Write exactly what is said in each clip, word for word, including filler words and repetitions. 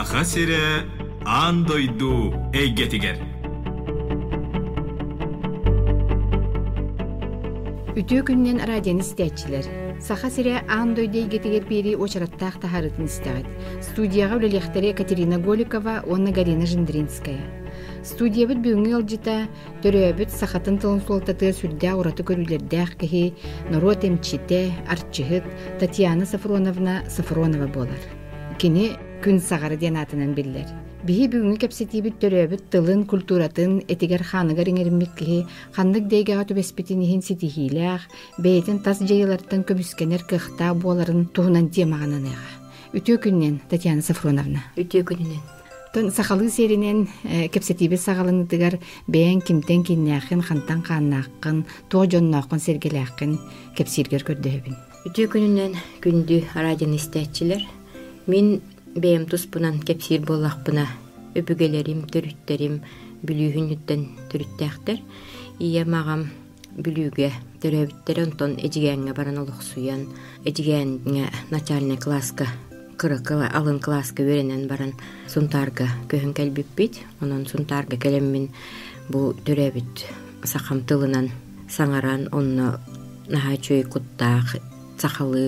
Саха сире андойду эйгетигер. Үтө күннен радион истәчиләр. Саха сире андойду эйгетигер бири очраттах тахарытын истәгәт. Студияга үлелехтәре Екатерина Голикова, Онна Галина Жиндринская. Студия бит бүгүнгө алжыта төрөбүт сахатын тылын суалтаты сүрдә ураты көрүләрдәх кеһи народ эмчите арчыгыт Татьяна Сафроновна Сафронова болар. Кини күн сагары ден атынан биллер. Биһи бүгүнгү кепсетибит төрөбүт тылын культуратын этигер ханыгар иңермик кеһи ханнык дейгага төбеспитинихин ситихилях бейтин тас жайылардан көмүскенер кыхта боларын туһунан темагананыга. Үтө күннен Татьяна Сафроновна. Үтө күннен Тон сахалы серинен кепсетибе сагалыныдыгар бээн кимтен киннäхин хантан хааннааккын тоожоннооккун сергелээккин кепсиргер көрдөһөбүн. Үтө күнүнен күндү радион истәчилер. Мин бээм туспунан кепсир боллакпына өбүгелерим, төрүттерим бүлүүхүнүттен төрүттээхтер. Ия магам бүлүүгө төрөбүттер онтон эжигээңе баран олуксуян, эжигээңе начальный класска кырыкыла алын класска веренен баран сунтарга көһүн келбиппит. Онон сунтарга келеммин бу төрөбүт сахам тылынан саңаран онно нахай чөй куттаах сахалы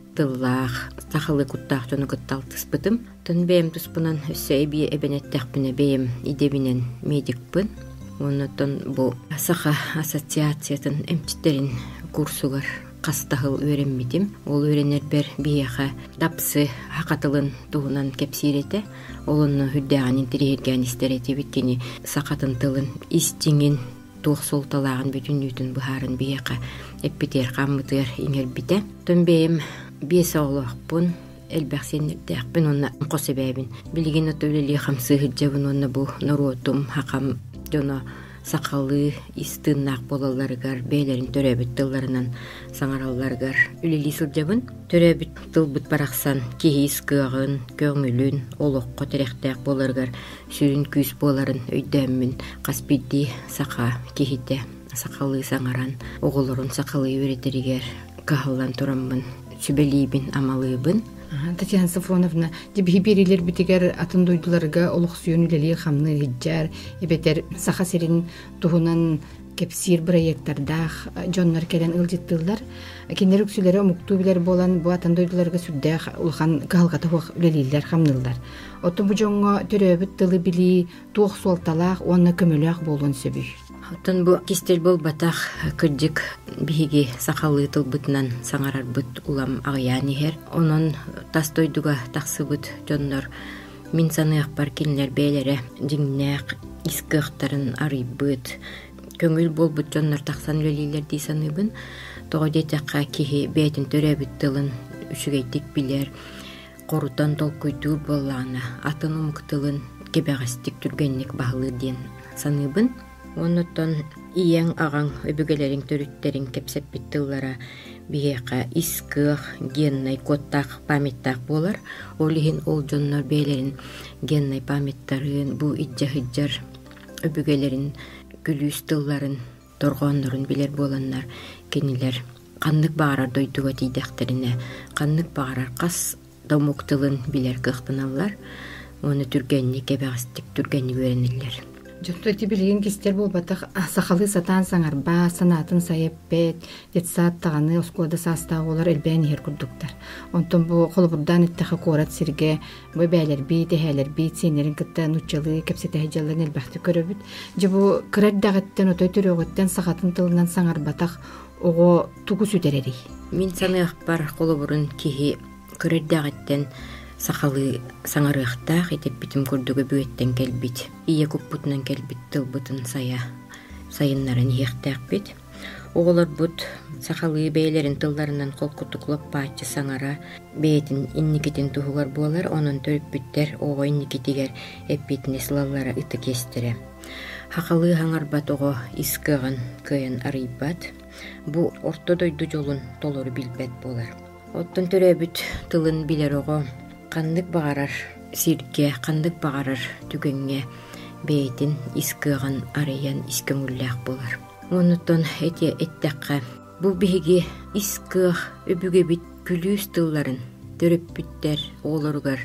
тыллаах сахалы куттаах тону кытталтыспытым. Тон бээм туспунан өссө эби эбенеттехпине бээм идебинен медикпын. Оннотон бу саха ассоциациятын эмчиттерин курсугар кастахыл өреммитим. Ол өренер бер бияха дапсы хакатылын туһунан кепсирете. Олонну хүддәгән интерьергән истерети биткени сакатын тылын истиңин тух солталагын бүтүн үтүн бухарын бияха эппитер каммытыр иңер бите. Төнбейм бес оглохпун элбәхсеннердәкпен онна косебәбин. Билген өтөлели хамсы хиджабын онна бу норотум хакам жона сакалы истыннак болаларыгар бейлерин төрөбүт тылларынан саңаралларыгар үлели сылжабын. Төрөбүт тылбыт бараксан кehis кыагын, көңүлүн, олокко терехтек боларыгар сүрүн күз боларын өйдөммүн. Каспидди сака кехите сакалы саңаран, оголорун сакалы өретеригер кахаллан тураммын, сүбелибин амалыбын. Татьяна Сафроновна, дебихи берилер битигер атын дойдуларга олуксуйун үлели хамны хиджар, эбетер саха серин туһунан кепсир проекттардах жоннар келен ылжыттылар. Кинер үксүлери омуктуу билер болан бу атын дойдуларга сүрдэх улхан калгата хуак үлелилер хамнылдар. Оту бу жоңго төрөбүт тылы били туох суалталах, онна көмөлөк болгон сөбүй. Оттон бу кистел болбатах кырдык биһиги сакалы тылбытынан саңарарбыт улам агыянихер. Онон тастойдуга таксыбыт жоннор мин саныак бар кинилер бээлере жиңнэк искыктарын арыйбыт. Көңүл болбут жоннор таксан үлелилер дей саныбын. Тогодетакка кихи бетин төрөбүт тылын үшүгейтик билер. Корутан толкуйдуу боллаана атын умуктылын кебегастик түргенник баһылыр диен саныбын. Оннотон иең ағаң өбүгелерин төрүттерин кепсеппит тыллара биэка искых геннай коттак памяттак болар. Олихин ол жоннор бээлерин геннай памяттарын бу иджа-хиджар өбүгелерин күлүүс тылларын торгооннорун билер боланнар кенилер каннык баарар дойдуга тийдектерине каннык баарар кас домук тылын билер кыхтыналлар. Оны түргенни кебегастик түргенни берениллер. Жотто тибилген кистер болбатах сахалы сатан саңарба санатын сайеппет детсат таганы осколда састагылар элбен хер курдуктар. Онтон бу колбурдан иттахы корат сирге бу бәйлер би техелер би сенерин кытта нучалы кепсете хажалларын элбахты көрөбүт. Жабу кырдагыттан отой төрөгөттен сахатын тылынан саңарбатах ого тугу сүдерери. Мин саныак бар колбурун кихи кырдагыттан сахалы саңарыахтаах этеп битим курдуга бүеттен келбит. Ие куппутунан келбит тылбытын сая сайыннарын иехтаакбит. Оголор бут сахалы бейлерин тылларынан колкутуклап паачы саңара беетин инникитин туһугар буолар. Онун төрүппүттер ого инникитигер эппитине сылаллара ыты кестере. Хакалы хаңарбат ого искыгын кыйын арыйбат. Бу ортодойду жолун толору билбет болар. Оттон төрөбүт тылын билер ого кандык багарар сирге, кандык багарар түгөнгө бейтин искыган арыян искөңүллээх болар. Онуттон эти эттекка бу биһиги искыах өбүгэ бит күлүүс тылларын төрөппүттер оолоругар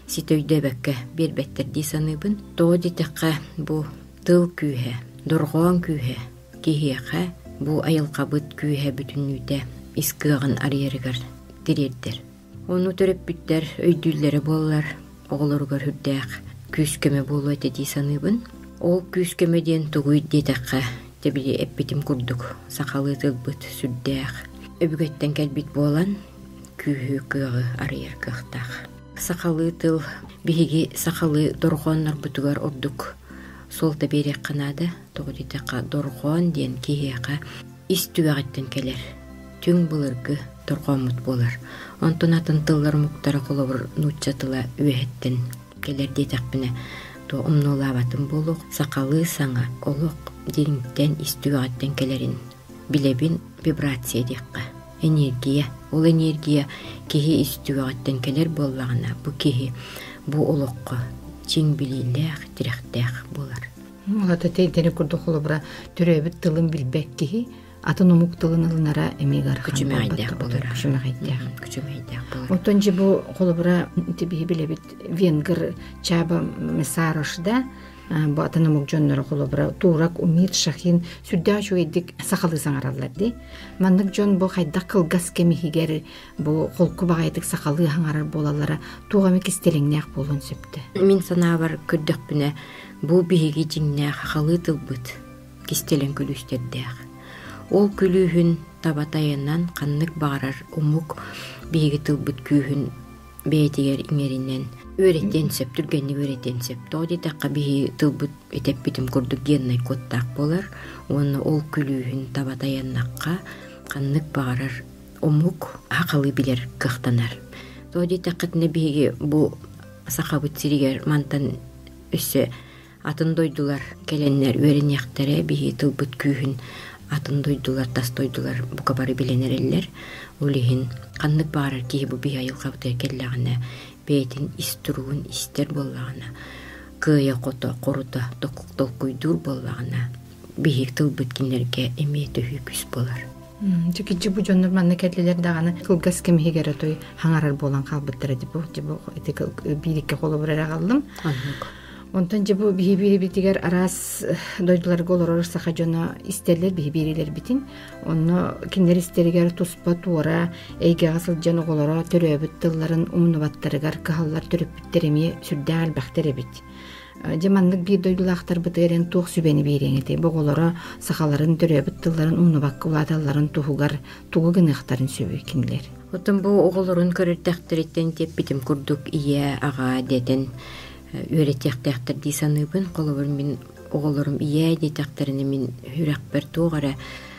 ситөйдө бәккә бербеттерди саныбын. То дитәккә бу тыл күйе, доргон күйе, кихеха бу айылкабыт күйе бүтүнүтә искыгын арыергар дирердер. Оны төрөп биттер өйдүлләре боллар, оглоргар хүрдәк күскеме болу эти саныбын. Ол күскемеден тугуй дитәккә тебили эппитим курдук, сакалы тылбыт сүрдәк. Өбүгөттен кәлбит болан күйі күйі арыйыр кықтақ. Сақалы тыл биһиги сақалы дорғоннар бұтығар ордук. Сол таберек қанады, тоғыдетақа дорғон ден кейеға истүгәғеттен келер. Түң бұлырғы дорғомут болар. Онтон атын тыллар мұқтары қолабыр нұтчатыла өйеттен келер детақпіне. То умнолабатын болуқ, сақалы саңа олуқ деріңттен истүгәғеттен келерін. Билебин вибрация декка. Энергия. Ол энергия кихи истүгәттен келер боллагына. Бу кихи бу олоққа чиң билилек, тирәхтәк булар. Олата тәйтәне күрдү холобра төрөбүт тылын билбек кихи атын умук тылын алынара эмегар хан. Күчүмәйдәк булар. Күчүмәйдәк. Күчүмәйдәк булар. Отонҗи бу холобра тибиһи билебит венгер чаба месарышда бу атын умук жоннор холобра турак умит шахин сүрдә чуйдик сакалы саңаралларди. Маннык жон бу хайдак кылгас кемихигер бу холку багайдык сакалы хаңарар болалара тугамы кистелеңнәк болон сөптө. Мин санабар күрдүкпүнө бу биһиги жиңнәк халы тылбыт кистелең күлүстөрдәк. Ол күлүһүн табатайынан каннык багарар умук биһиги тылбыт күүһүн бейтигер иңеринен өреттен сөп, түргенни өреттен сөп. Тоди таққа биһи тылбыт этеп битим курдук геннай коттак болар. Оны ол күлүүһүн табатаяннакка каннык багарар умук акылы билер кыхтанар. Тоди таққытны биһиги бу сахабыт сиригер мантан өссө атын дойдулар келеннер өренияктары биһи тылбыт күүһүн атын дойдулар, тас дойдулар бука бары биленереллер. Улихин каннык багарар кихи бу биһи айылкабытыр келлагына бейтин истуруун истер боллагына кыя кото корута токуктол куйдур боллагына биһи тылбыт кинерге эме төһү күс болар. Жекичи бу жоннор манна келлелер даганы кылгас кемигере той хаңарар болан калбыттыр ди бу жибу этик бирикке коло бере калдым. Онтан жибу биһи битигер арас дойдулар голорор саха жона истерлер биһи бирилер битин. Онно киндер истеригер туспа туора эйге асыл жана голоро төрөбүт тылларын умнубаттарыгар кахаллар төрөп биттереми сүрдәл бахтеребит. Жаманнык бир дойдулактар бытырен тух сүбени береңети. Бу голоро сахаларын төрөбүт тылларын умнубак улаталарын тухугар тугу гыныктарын сөбү киндер. Отон бу оголорун көрөттөктөрүттен теп битим курдук ие ага детен өретектектер дисаныбын колобур мин оголорум ие детектерини мин хүрәк бер тугара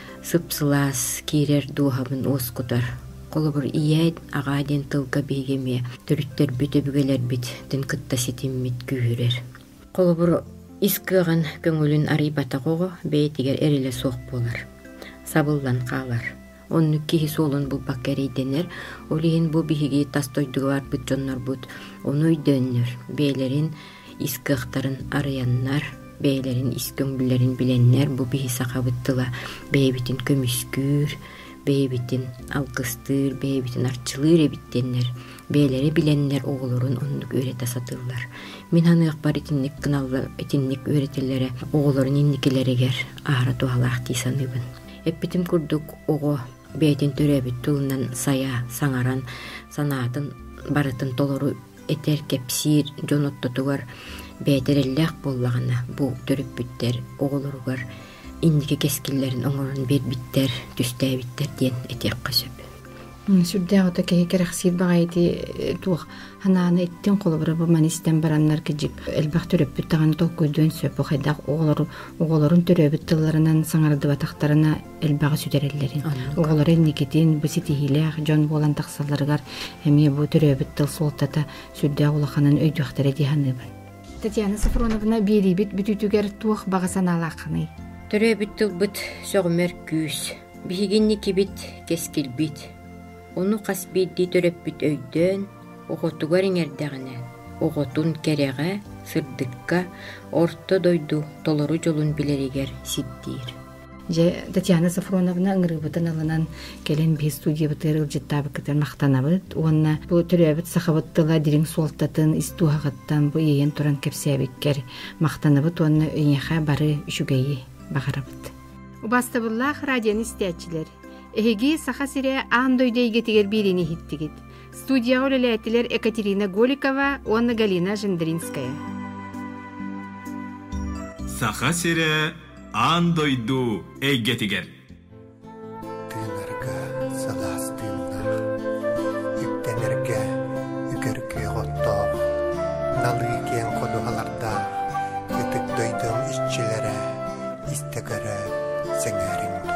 сыпсылас кирер дуhabын оскутар. Колобур ие ага ден тылга бегеме төрүттөр бүтөбүгелер бит тен кытта ситиммит күүрер. Колобур искыган көңүлүн арыйбата кого бейтигер эреле сок болар. Сабылдан калар. Онну кихи солун бу баккерейденер, олиин бу биһиги тастойдугар бут жоннор бут, ону үйдөннөр, бейлерин искыктарын арыяннар, бейлерин искөңбүлерин биленнер, бу биһи сакабыттыла бейбитин көмүскүр, бейбитин алкыстыр, бейбитин арчылыр эбиттеннер, бейлери биленнер оголорун оннук өйрете сатылар. Мен анык бар этинник кыналлы этинник өйретелери оголорун инникилеригер ара туалаах тисаныбын. Эппитим курдук ого бейтин төрөбүт тулунан сая саңаран санаатын барытын толору этер кепсир жоноттотугар бейтереллек боллагана бу төрөппүттер оголоругар индики кескиллерин оңорун бербиттер түстәбиттер ден этек касып. Сүрдә ота кеһи керәхсир багайти тух хананы иттен колобра бу манистен бараннар кижик элбах төрөппүт таган толкойдөн сөп хайдак оголор оголорун төрөбүт тылларынан саңарды батактарына элбагы сүдереллерин оголор никетин биситихиле жон болан таксаларгар эми бу төрөбүт тыл солтата сүрдә улаханын өйдөктөрө диханы. Татьяна Сафроновна берибит бүтүтүгер тух багасаналакны. Төрөбүт тыл бит сөгмөр күс бигинни кибит кескилбит. Onu kasbiddi töröppüt öydön, oğotugar iňerdägine, oğotun kerege, sırdıkka, orta doydu, toloru jolun bileriger sittir. же Татьяна Сафроновна ыңырыбытын алынан келен би студия бытыр ылжыттабы кытыр мактанабыт. Онна бу төрөбүт сахабыттыла дирин суолтатын истуагаттан бу ийен туран кепсебиккер мактанабыт. Онна ыйыха бары үшүгейи багарабыт. Убастабыллах радионы истечилер. Эһиги саха сире андойдейге тигер бирини хиттигит. Студияга үлеләтилер Екатерина Голикова, Онна Галина Жендринская. Саха сире андойду эйгетигер. Тынарга саластыннах, үктенерге үгерге готтоох, налы кен кодугаларда, ытык дойдың ишчилere, истегere сеңеринду.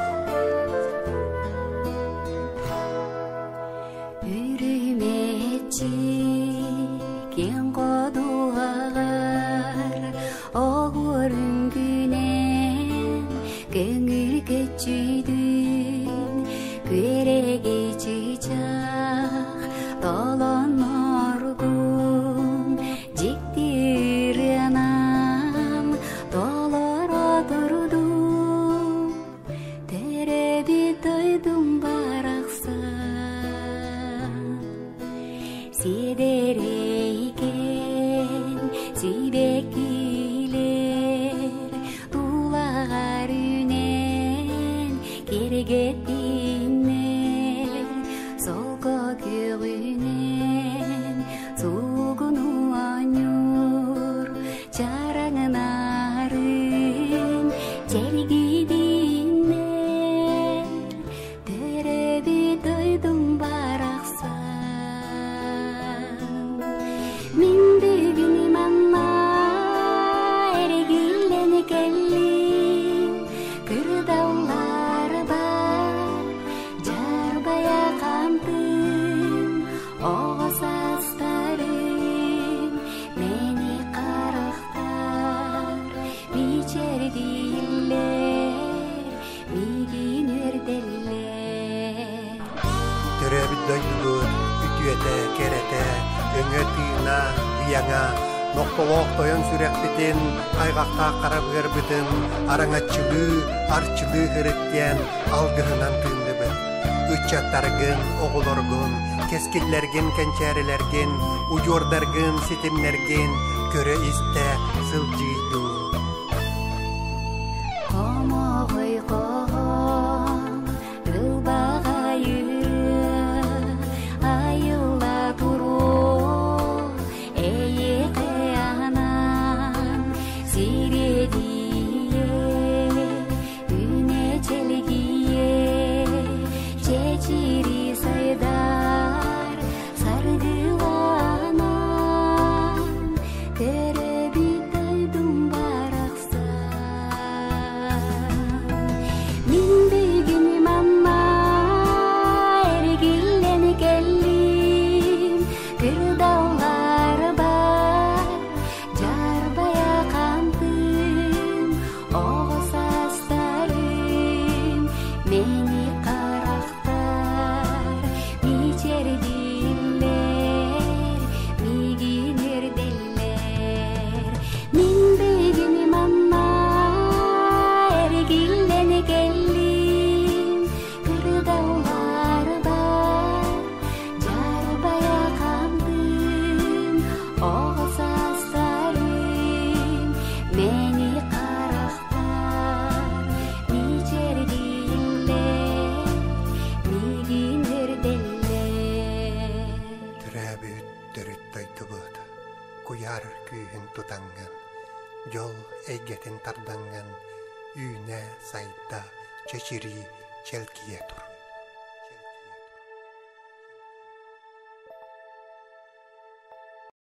Үрүметчи кен кодугалар, огурун күнен көңүл көчүйдүн, күреге чыжак толон оргун, жиктиринам толоро турдум, тереби тойдум бараксан, сидерейген сүйбекилер, тулар үнен кергеттинер, солко көгүнен сугуну анюр, чараңнарын чергидинер, тереби тойдум бараксан, мен бүгүн манна эргилен келлим, кырдаулар бар, жарбая камтым, оғасастарым, мени карактар, бичердилер, мигин өрделер. Төрөбүт дойдугут, үтүете, керете, өңө тыына, ыяңа, ноктолоох тойон сүрекбитин, айгакта карабыгырбытын, араңаччылыы, арчылыы хырыттен, алгыһынан тыындыбыт. Үччаттаргын, оголоргун, кескиллерген, кенчәрелерген, уйордаргын, ситимнерген, көрө исте, сылжыйду. Комогой когом, ылбага юрү, айылла туру, эйеке анан, сиредие, үне челгие, чечири сайдар, сардыланан, тереби тойдум бараксан, мен бүгүн мамма эргилен келлим, кырдаулар бар, жарбая камтым, оғасастарым, мени карактар, бичердилер, мигин өрделер. Мен бүгүн мамма эргилен келлим, кырдаулар бар, жарбая камтым, оғасастарым, мени карактар, бичердилер, мигин өрделер. Төрөбүт төрүт дойдугут, куяр күйүн тутанган, жол эйгетин тарданган, үйне сайда чечири челкие тур.